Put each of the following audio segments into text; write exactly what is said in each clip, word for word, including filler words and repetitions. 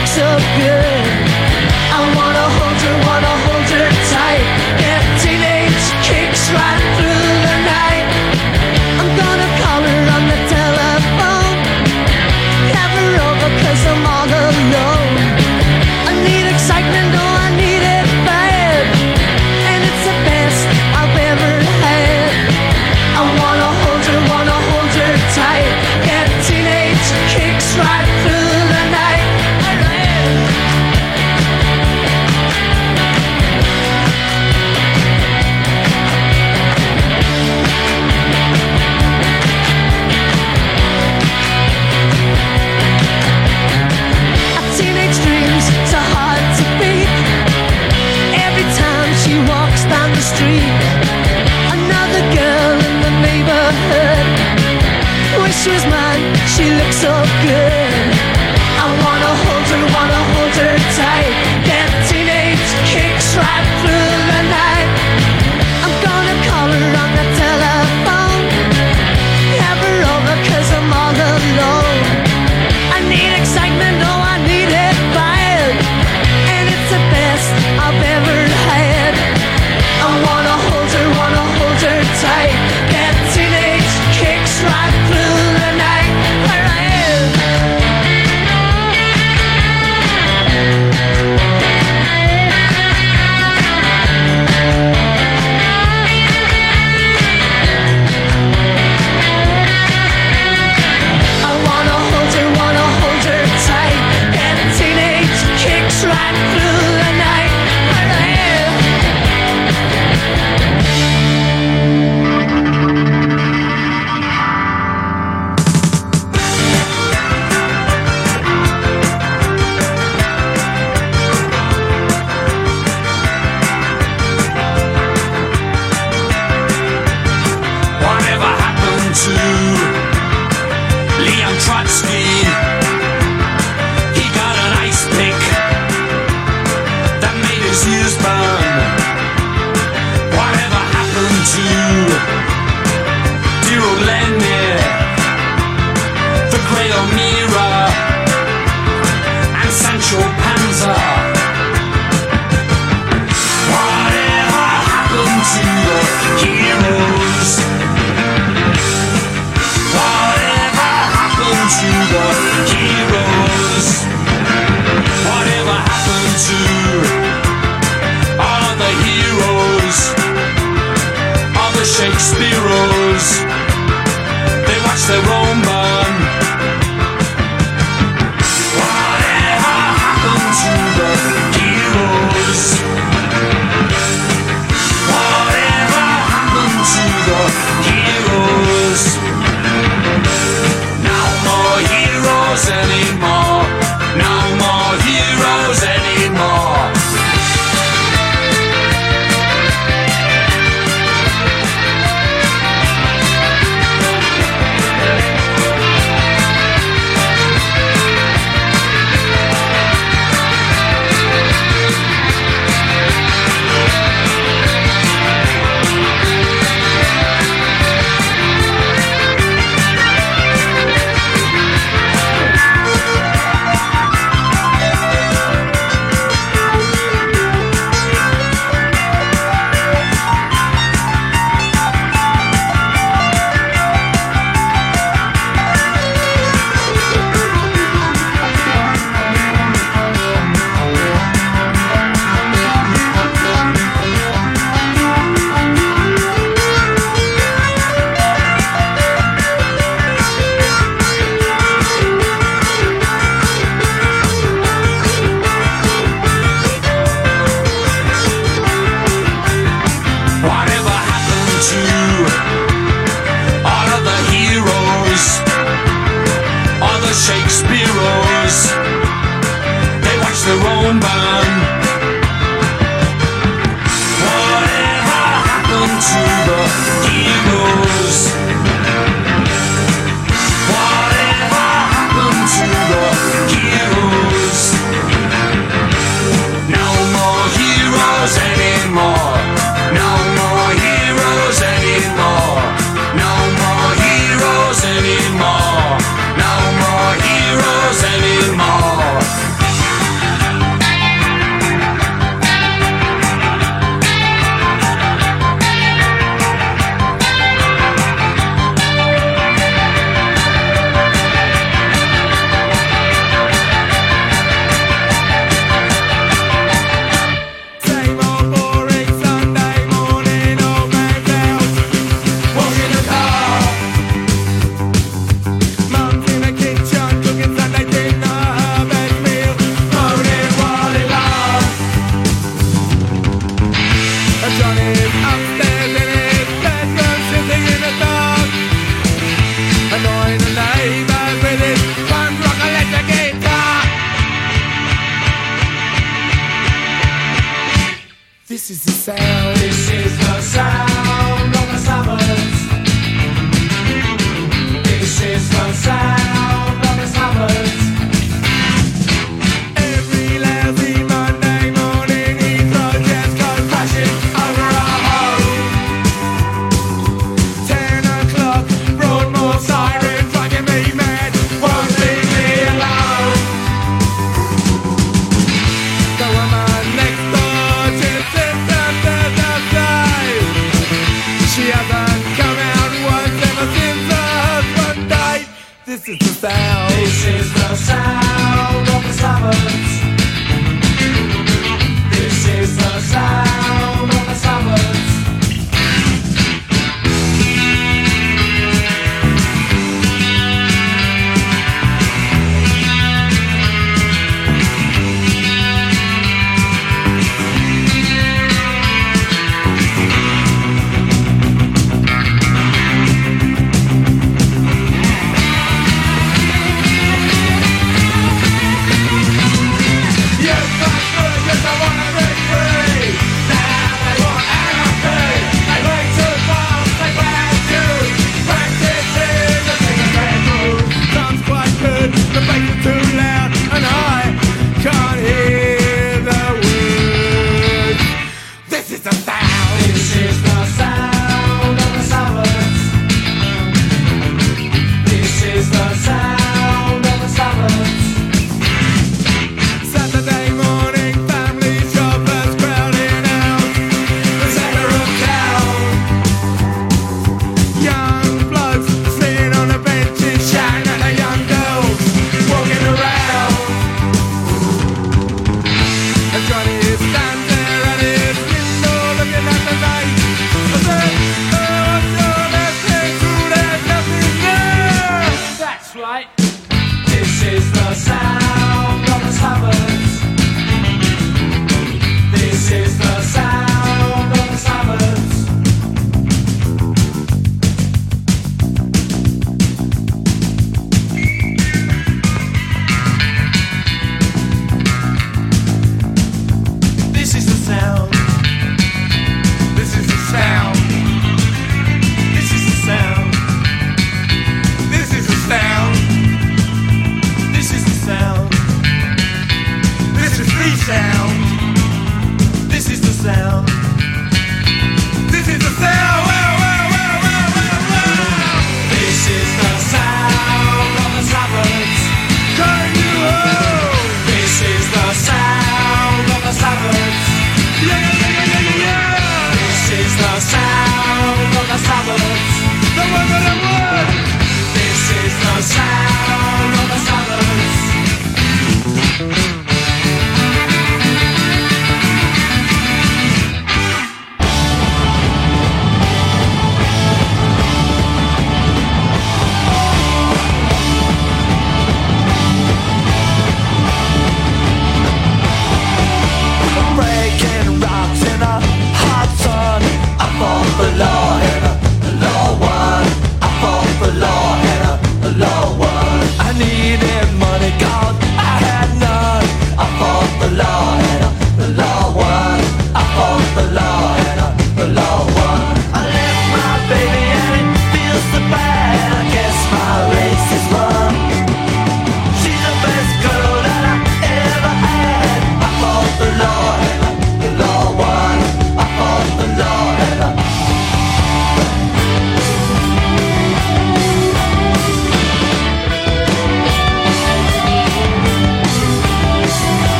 so good. I wanna hold her, wanna hold her tight. Get teenage kicks right through the night. I'm gonna call her on the telephone. Have her over 'cause I'm all alone. I need excitement, oh I need it bad. And it's the best I've ever had. I wanna hold her, wanna hold her tight. Get teenage kicks right through the night. Our teenage dreams so hard to beat. Every time she walks down the street, another girl in the neighborhood. Wish she was mine, she looks so good. I wanna hold her, wanna hold her tight. Get teenage kicks right through the night. I'm gonna call her on the telephone. Have her over 'cause I'm all alone. I need excitement, oh I need it bad. And it's the best I've ever had. I wanna hold her, wanna hold her tight. Get teenage kicks right through the night. Where I am. This is the sound. This is the sound of the suburbs. This is the sound of the suburbs. Every lousy Monday morning, Heathrow jets go crashing over our home. Ten o'clock, Broadmoor siren, driving me mad, won't leave me alone. So I'm on next door to sit down, down, down, down.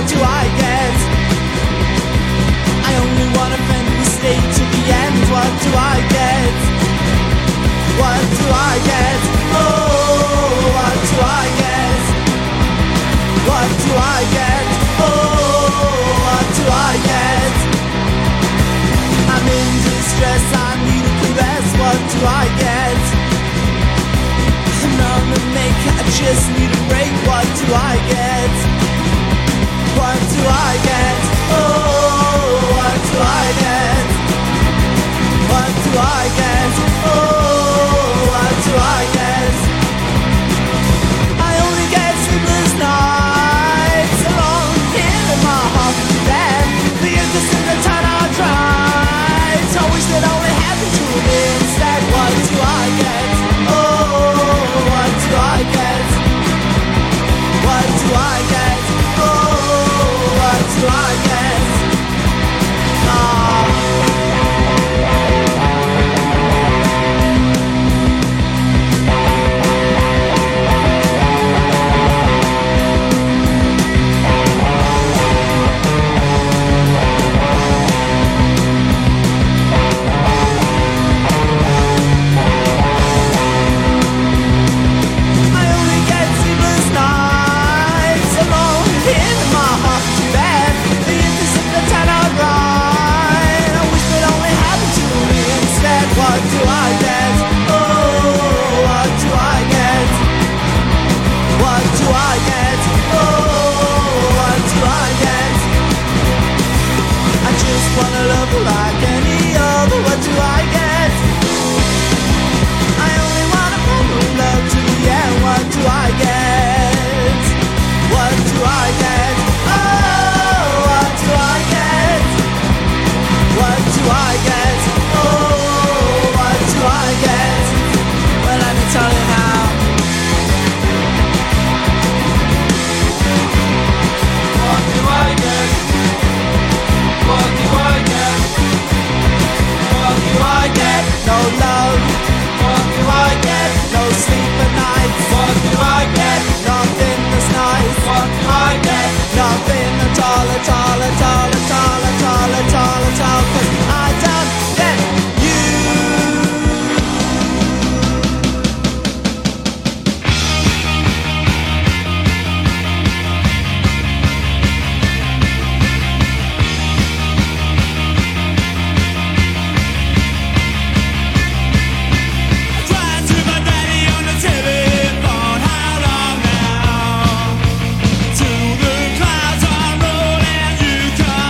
what do I get? I only want a friend who stayed to the end. What do I get? What do I get? Oh, what do I get? What do I get? Oh, what do I get? I'm in distress, I need a caress. What do I get? I'm on the make, I just need a break. What do I get? What do I get? Oh, what do I get? What do I get? Oh, what do I get? I only get sleepless nights alone here in my heart. Then the innocent that turn out dry. I wish that only happened to me instead. What do I get? Oh, what do I get? What do I get? Oh, what do I get? Ah. What do I get? Oh, what do I get? What do I get? Oh, what do I get? I just wanna love like any other. What do I get? I only wanna follow love to the end. What do I get? What do I get? Oh, what do I get? What do I get? Oh, I get? Well, let me tell you now. What do I get? What do I get? What do I get? No love. What do I get? No sleep at night. What do I get? Nothing that's nice. What do I get? Nothing at all, at all, at all, at all, at all, at all, at all. 'Cause I don't get you. Crying to my daddy on the telephone. How long now? To the clouds are rolling, you come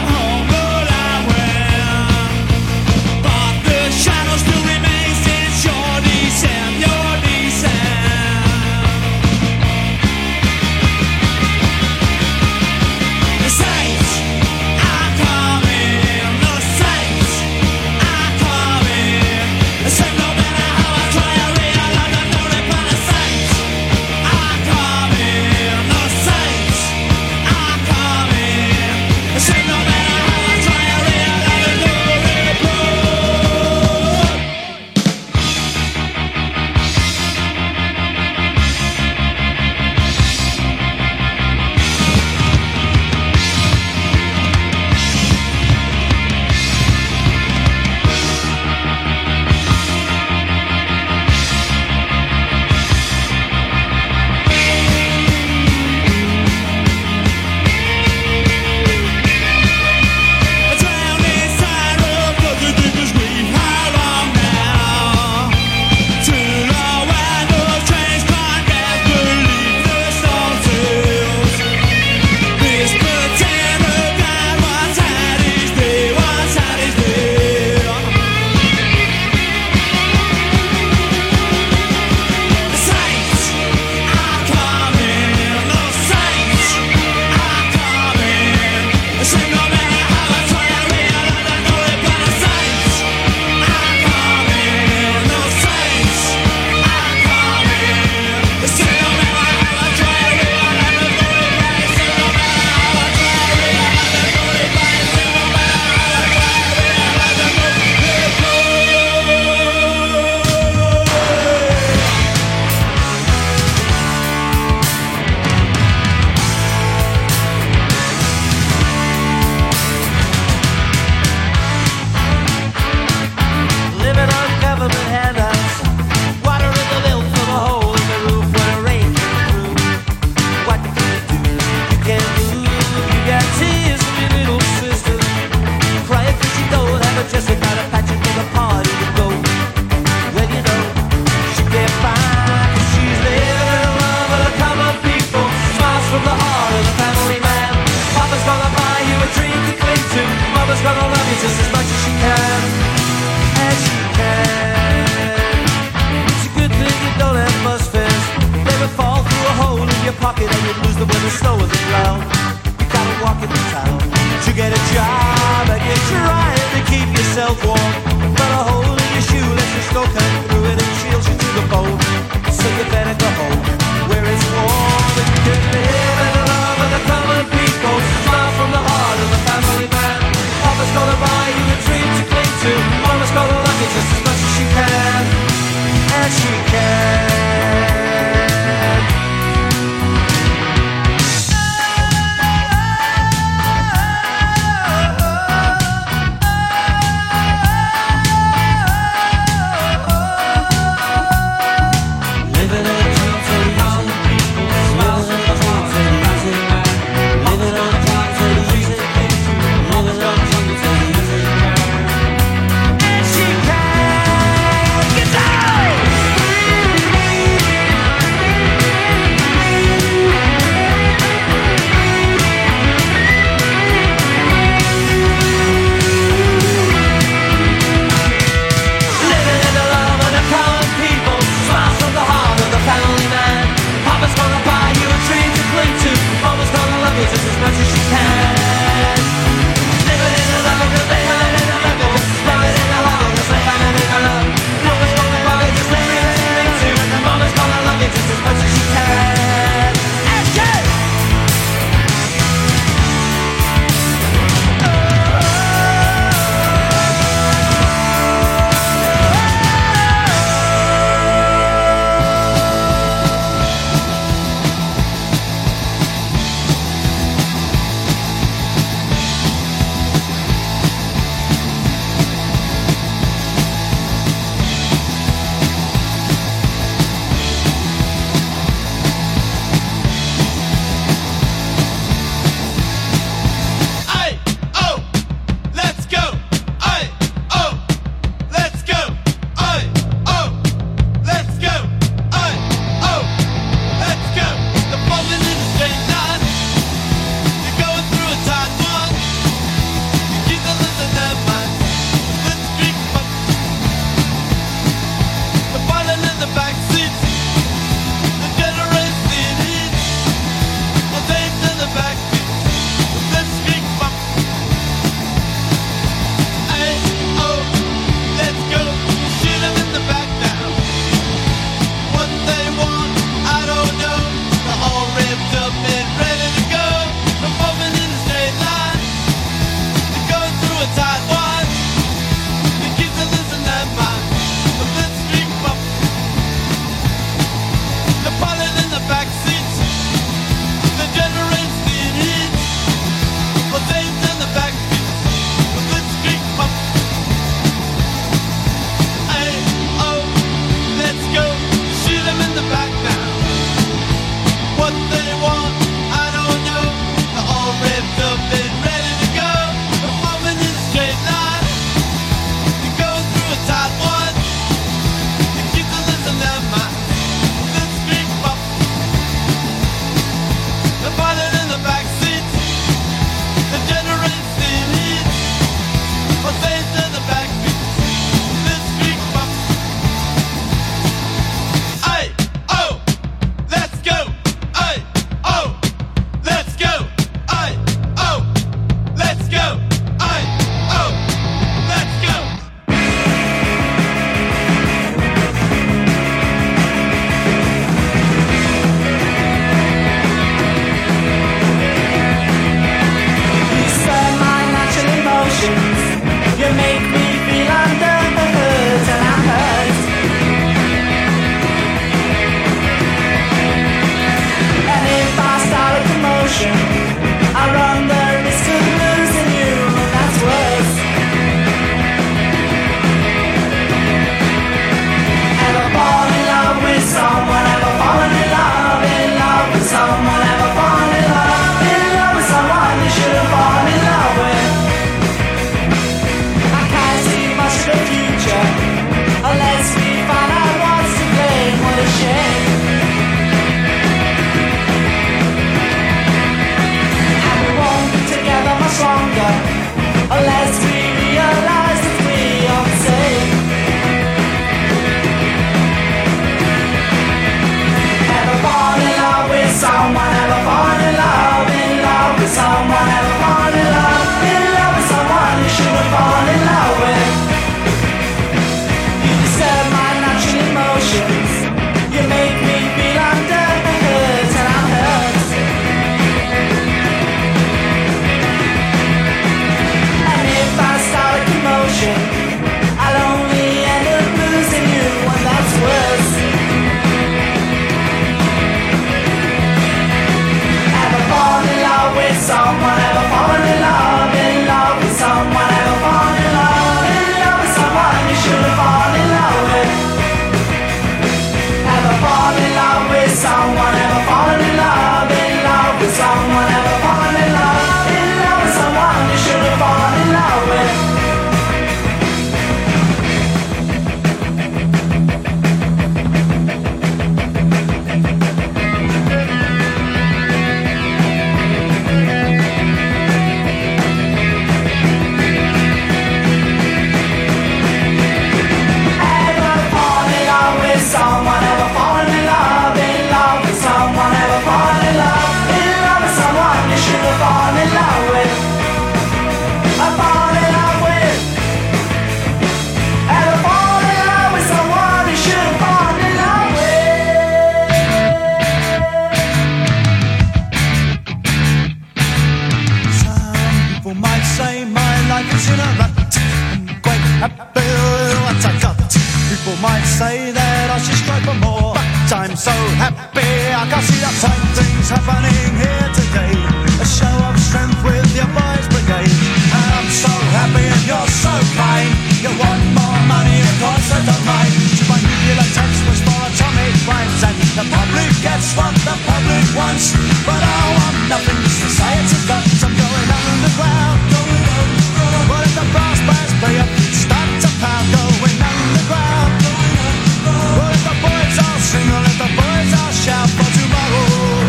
I'm so happy I can see the fine things happening here today. A show of strength with your boys brigade. And I'm so happy and you're so kind. You want more money, of course I don't mind. To my nuclear text was for atomic crimes. And the public gets what the public wants. But I want nothing, society's got. I'm going underground, going underground. But if the brass bands play up, start to pound. Going underground, going underground. But if the boys all sing, or if the boys all shout for tomorrow.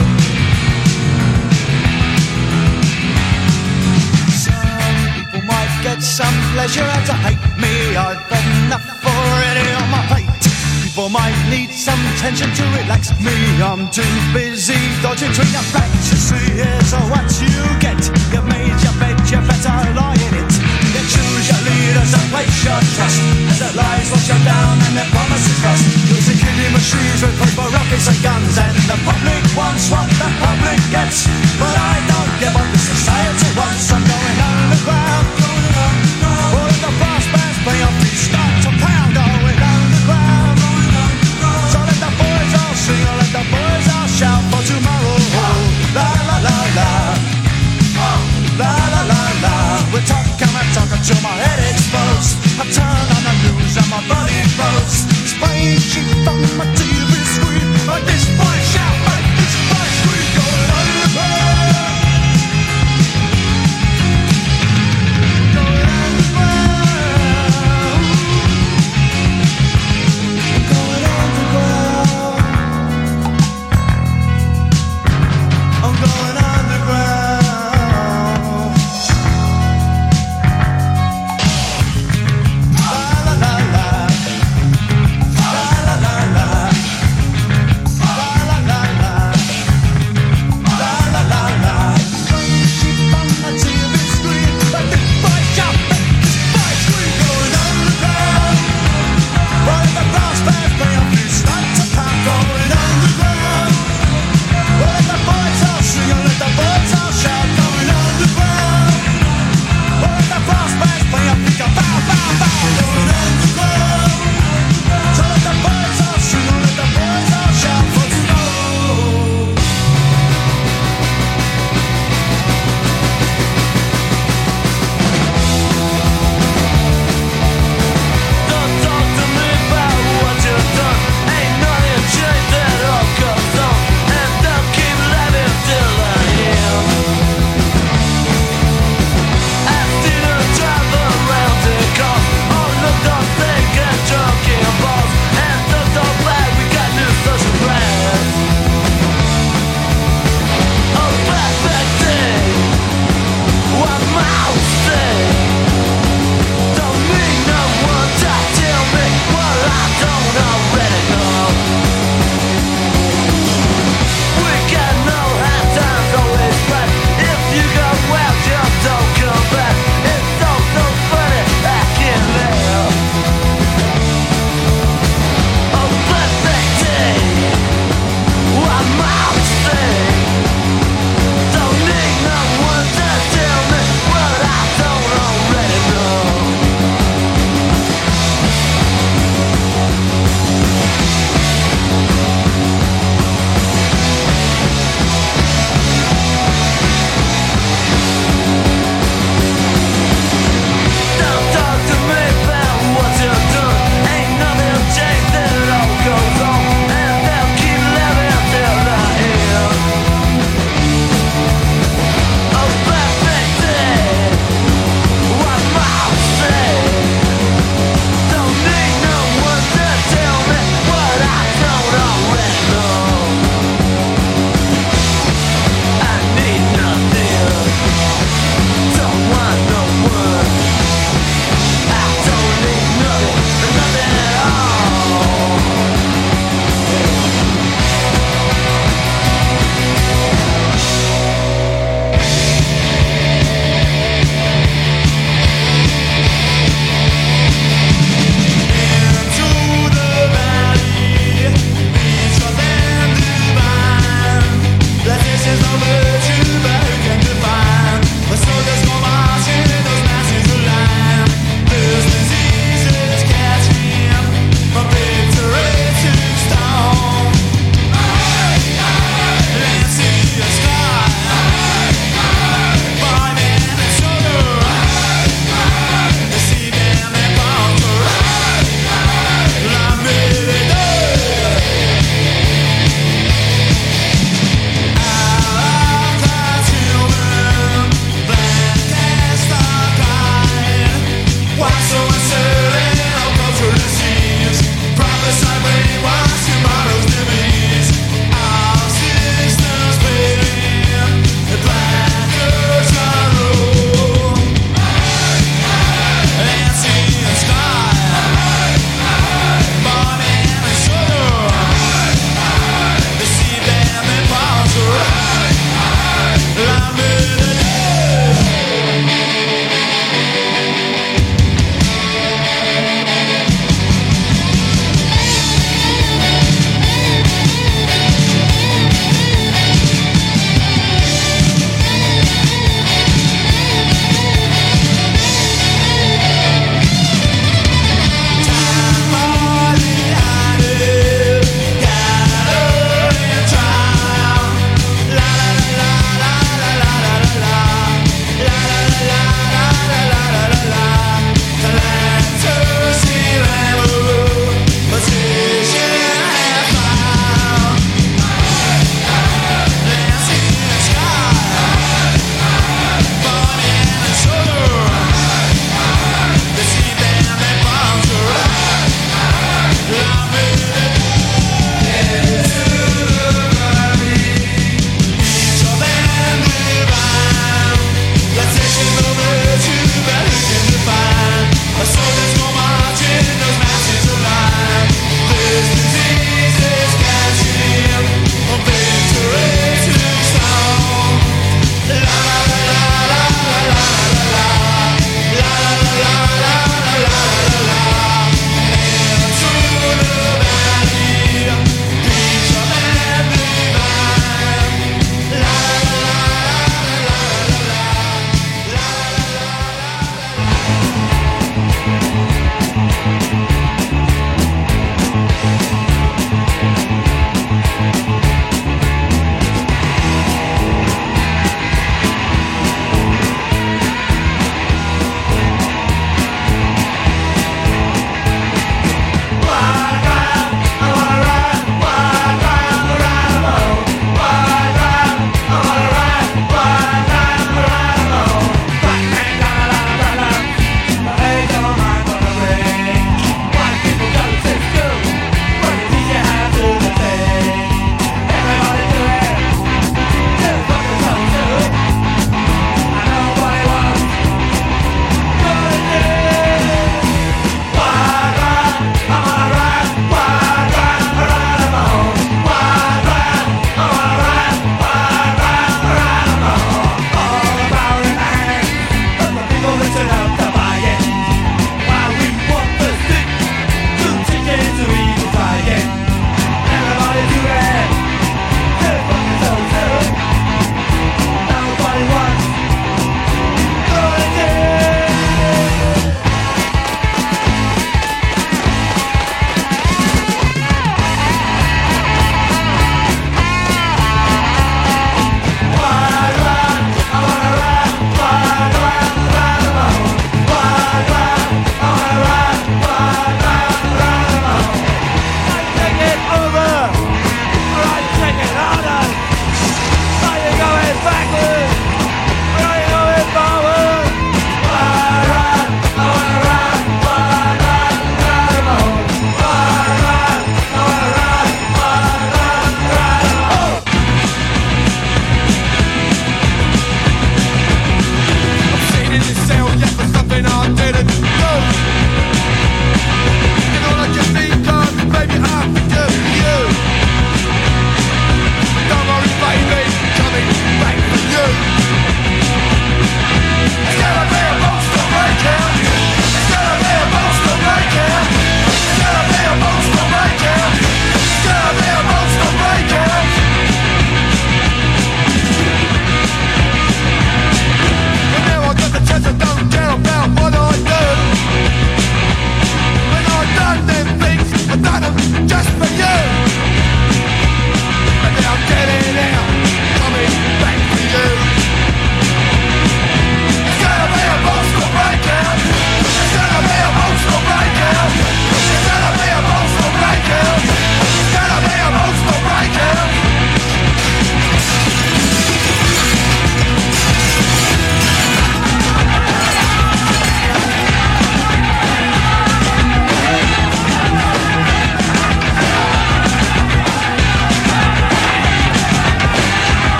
Some people might get some pleasure out of hate me. I've had enough already on my plate. People might need some tension to relax me. I'm too busy dodging between the facts. You see, here's what you get. You've made your bed, you better lie in it. You choose your leaders and place your trust. As their lies wash you down and their promises rust. You'll see killing machines replaced by rockets and guns. And the public wants what the public gets. But I don't give what the society wants. I'm going underground, going underground. All of the brass bands play off, start to pound. Going underground. So let the boys all sing, or let the boys all shout for tomorrow. La la la la, la la la la. We're talking, I'm talking till my head explodes. I turn on the news and my body blows. Spraying sheep on my T V screen. Like this boy shout, like this boy scream. Going underground.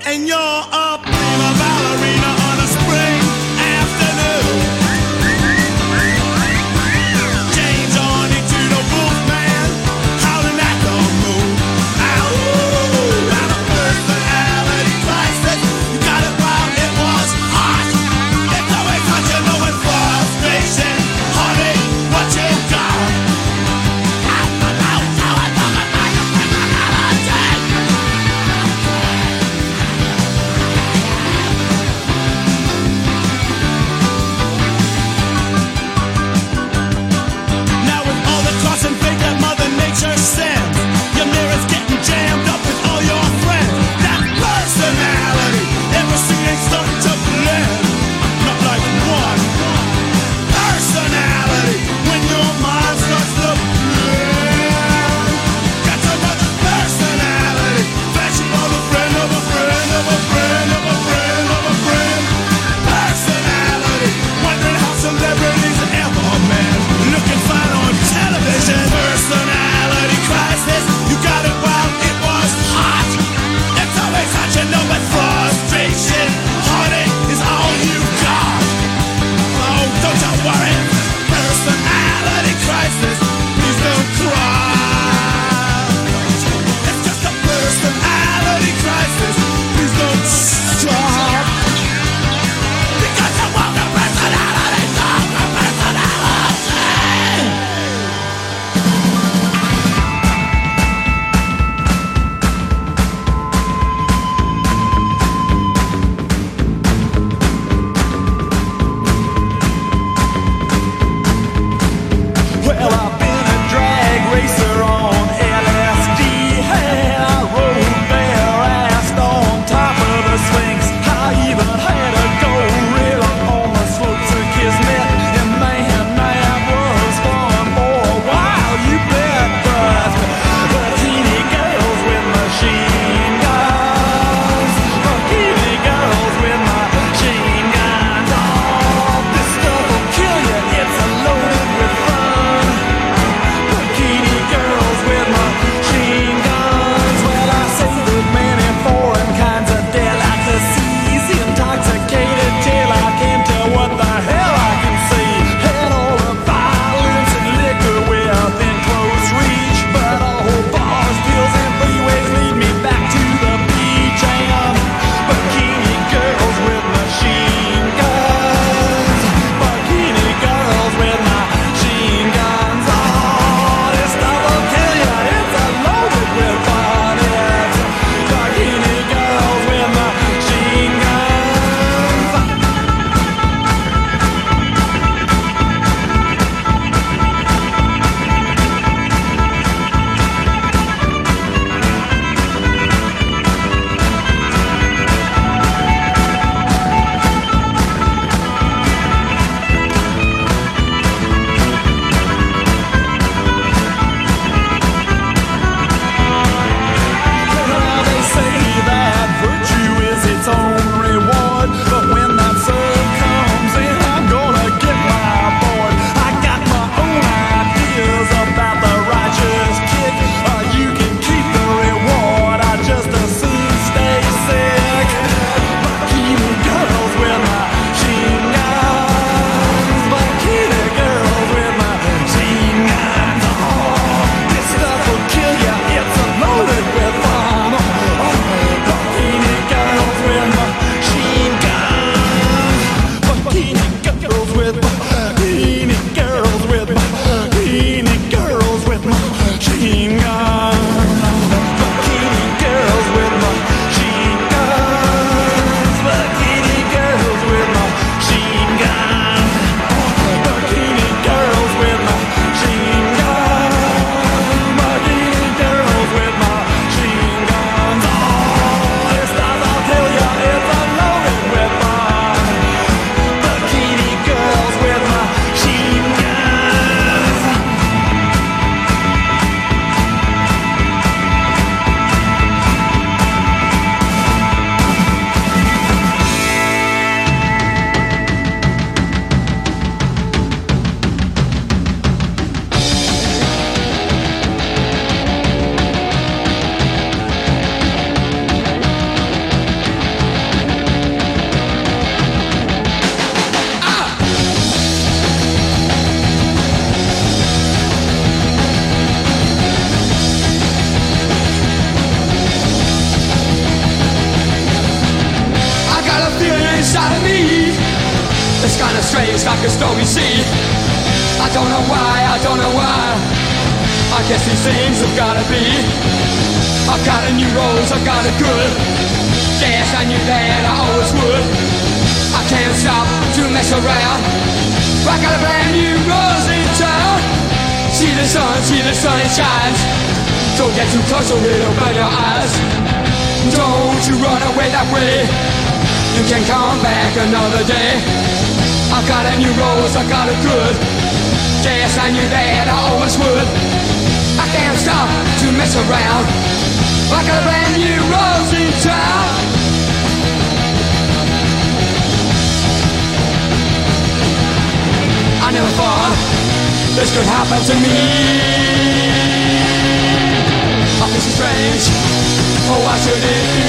and you're a prima ballerina on a spring afternoon. James on into the Wolfman, howling at the moon. Ow, and a personality crisis. You got it wrong, it was hot. It's always hot, you know it's frustration. Honey, what you got? strange, like a storm you see. I don't know why, I don't know why. I guess these things have gotta be. I've got a new rose, I've got a good. Yes, I knew that I always would. I can't stop to mess around. I got a brand new rose in town. See the sun, see the sun, it shines. Don't get too close or it'll burn your eyes. Don't you run away that way. You can come back another day. I got a new rose, I got a good. Yes, I knew that I always would. I can't stop to mess around. I got a brand new rose in town. I never thought this could happen to me. I feel so strange. Oh, why should it be?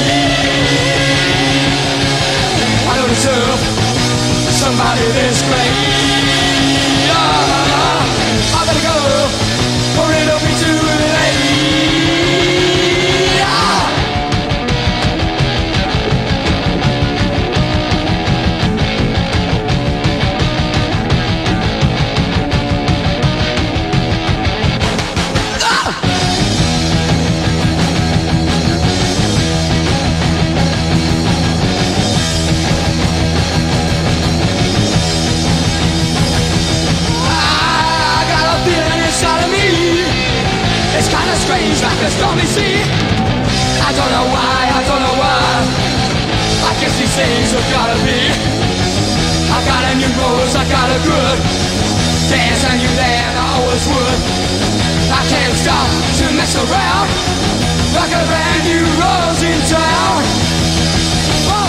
I don't deserve somebody this great. Oh, I better go, or it'll be too late. It's kinda strange, like a stormy sea. I don't know why, I don't know why. I guess these things have gotta be. I got a new rose, I got a good. Yes, I knew that I always would. I can't stop to mess around. I got a brand new rose in town. Whoa.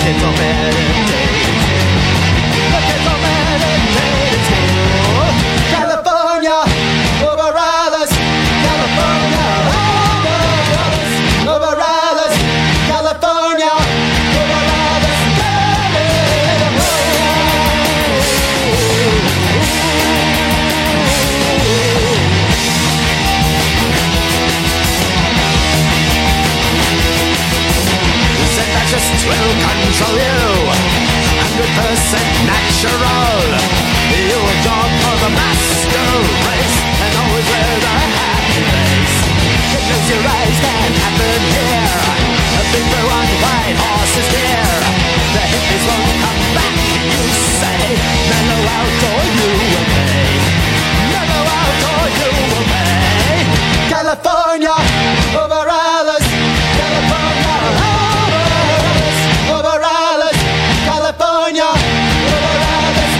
kids are meditating. The kids are meditating too. California, over Alice. California, over Alice. Over Alice. California, over Alice. Just will control you, hundred percent natural. You are dog for the master race, and always with a happy face. You close your eyes, that happen here. A big blue on white horse is here. The hippies won't come back, you say. Mellow out or you will pay. Mellow out or you will pay. California, over Alice. California, over Alice, California, over Alice,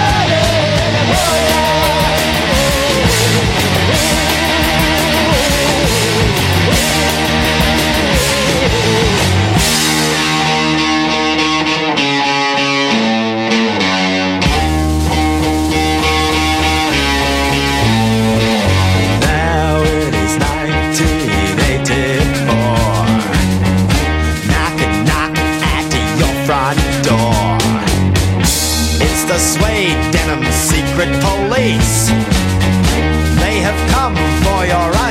now it is nineteen eighty-four. Knock and knock at your front door. It's the suede denim secret police. They have come for your